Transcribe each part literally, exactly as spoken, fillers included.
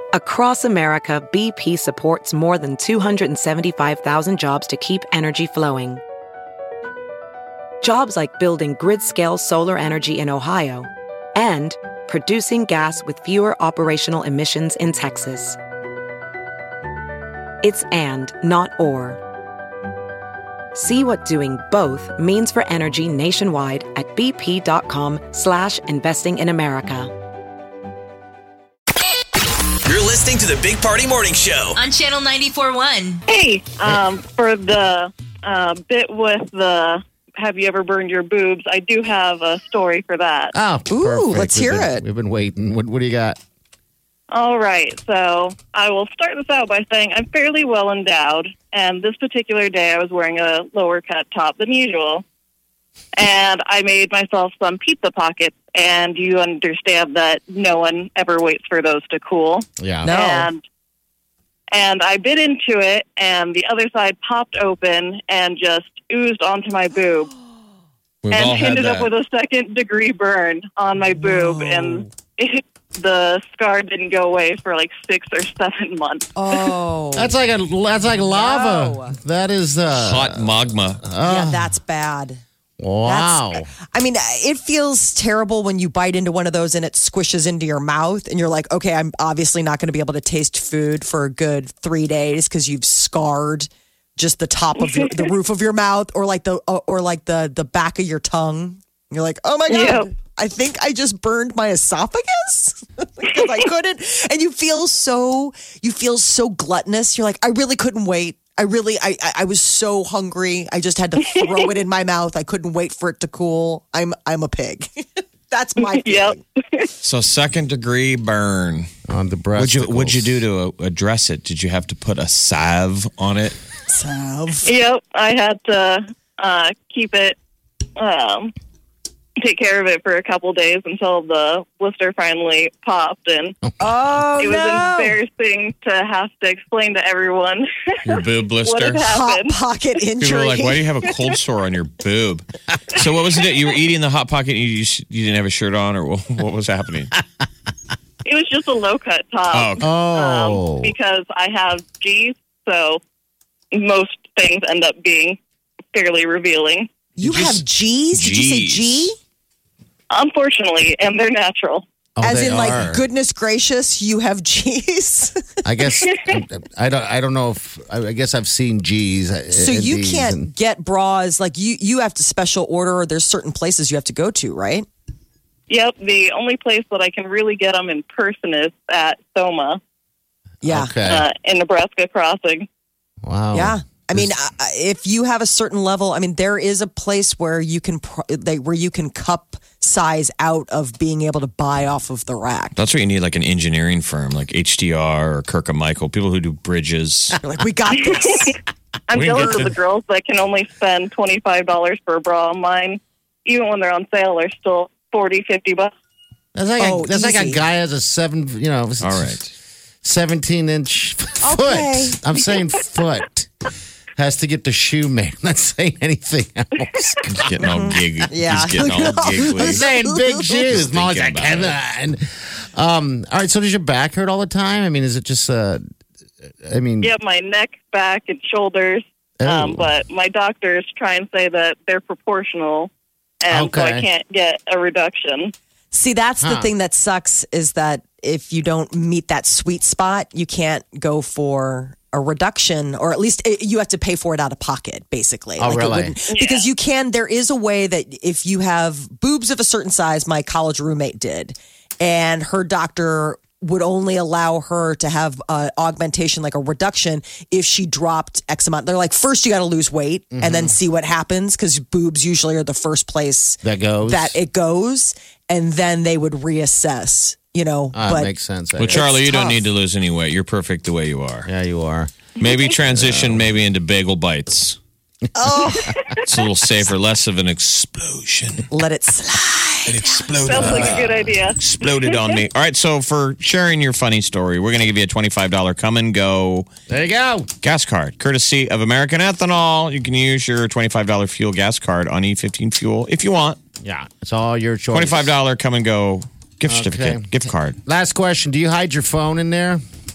Across America, B P supports more than two hundred seventy-five thousand jobs to keep energy flowing. Jobs like building grid-scale solar energy in Ohio and producing gas with fewer operational emissions in Texas. It's and, not or. See what doing both means for energy nationwide at bp.com slash investing in America. You're listening to the Big Party Morning Show on Channel ninety-four point one. Hey, um, for the uh, bit with the have you ever burned your boobs, I do have a story for that. Oh, Ooh, perfect. let's We've hear been- it. We've been waiting. What, what do you got? All right, so I will start this out by saying I'm fairly well endowed, and this particular day I was wearing a lower cut top than usual, and I made myself some pizza pockets, and you understand that no one ever waits for those to cool. Yeah. No. And, and I bit into it, and the other side popped open and just oozed onto my boob, We've and all had ended up that. with a second degree burn on my boob, and it, the scar didn't go away for like six or seven months. Oh. That's like a that's like lava. No. That is uh, Hot magma. Yeah, that's bad. Wow. That's, I mean, it feels terrible when you bite into one of those and it squishes into your mouth and you're like, okay, I'm obviously not going to be able to taste food for a good three days because you've scarred just the top of your, the roof of your mouth or like the uh, or like the the back of your tongue. You're like, oh my God, Yep. I think I just burned my esophagus because I couldn't. And you feel so, you feel so gluttonous. You're like, I really couldn't wait. I really, I, I I was so hungry. I just had to throw it in my mouth. I couldn't wait for it to cool. I'm, I'm a pig. That's my feeling. Yep. So second degree burn. On the breast. What'd you What'd you do to uh, address it? Did you have to put a salve on it? Salve. Yep, I had to uh, keep it, um, take care of it for a couple days until the blister finally popped, and Oh, it was no. embarrassing to have to explain to everyone Your boob what blister? had Hot happened. pocket injury. People were like, "Why do you have a cold sore on your boob?" So what was it? You were eating the hot pocket. And you you you didn't have a shirt on, or what, what was happening? It was just a low cut top. Oh, okay. Oh. um, because I have G's, so most things end up being fairly revealing. You Did you have s- G's? Did you say G's. G? Unfortunately, and they're natural. Oh, As they in, are. like, goodness gracious, you have G's. I guess I don't. I don't know if. I guess I've seen G's. So you can't get bras like you. You have to special order. Or there's certain places you have to go to, right? Yep, the only place that I can really get them in person is at Soma Yeah, Okay. uh, in Nebraska Crossing. Wow. yeah. I mean, uh, if you have a certain level, I mean, there is a place where you can pro- they, where you can cup size out of being able to buy off of the rack. That's what you need, like an engineering firm, like H D R or Kirk and Michael, people who do bridges. You're like, we got this. I'm We can jealous get of to- the girls that can only spend twenty-five dollars for a bra. Mine, even when they're on sale, are still forty, fifty bucks. That's like Oh, a, that's like a easy. guy has a seven. You know. All right. seventeen inch foot. Okay. I'm saying foot. Has to get the shoe made. I'm not saying anything else. He's getting all gig. Yeah. He's getting all I'm giggly. saying big shoes. Just Molly's like, thinking about "Come on." Um, all right. So does your back hurt all the time? I mean, is it just? Uh, I mean, Yep, my neck, back, and shoulders. Um, Oh. but my doctors try and say that they're proportional, and so I Okay. can't get a reduction. See, that's the Huh. thing that sucks is that if you don't meet that sweet spot, you can't go for a reduction, or at least it, you have to pay for it out of pocket, basically. Oh, it really? wouldn't- Because you can, there is a way that if you have boobs of a certain size, my college roommate did, and her doctor would only allow her to have uh, augmentation, like a reduction, if she dropped X amount. They're like, first you got to lose weight and then see what happens, because boobs usually are the first place that goes. that it goes, and then they would reassess, you know. Ah, but makes sense. Well, Charlie, you don't tough. need to lose any weight. You're perfect the way you are. Yeah, you are. Maybe transition maybe into bagel bites. oh, It's a little safer, less of an explosion. let it slide. It exploded. Sounds like a good idea. Exploded on me. All right, so for sharing your funny story, we're going to give you a twenty-five dollars come and go There you go. gas card, courtesy of American Ethanol. You can use your twenty-five dollars fuel gas card on E fifteen Fuel if you want. Yeah, it's all your choice. twenty-five dollars come and go gift Okay. certificate, gift card. Last question: do you hide your phone in there?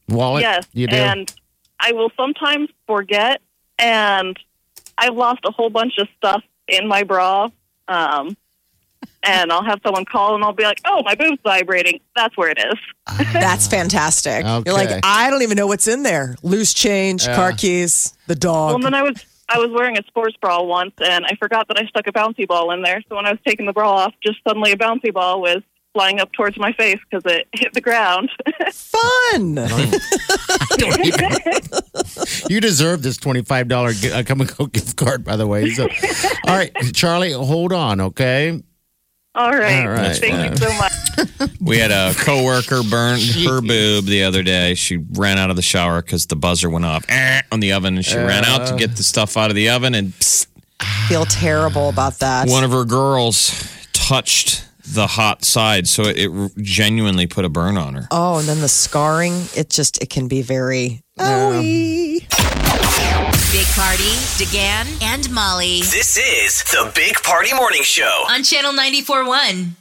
Wallet? Yes, You do? and I will sometimes forget, and I've lost a whole bunch of stuff in my bra. Um, and I'll have someone call, and I'll be like, "Oh, my boob's vibrating." That's where it is. That's fantastic. Okay. You're like, I don't even know what's in there. Loose change, Yeah. car keys, the dog. Well, and then I was I was wearing a sports bra once, and I forgot that I stuck a bouncy ball in there. So when I was taking the bra off, just suddenly a bouncy ball was flying up towards my face because it hit the ground. Fun. Don't even- you deserve this twenty-five dollars uh, Come and Go gift card, by the way. So, all right, Charlie, hold on, okay? All right. All right. Thank Yeah. you so much. We had a coworker burn her boob the other day. She ran out of the shower because the buzzer went off eh, on the oven, and she ran out to get the stuff out of the oven, and psst, Feel terrible about that. one of her girls touched the hot side, so it, it genuinely put a burn on her. Oh, and then the scarring, it just, it can be very, owie. Big Party, DeGan, and Molly This is the Big Party Morning Show. on Channel ninety-four point one.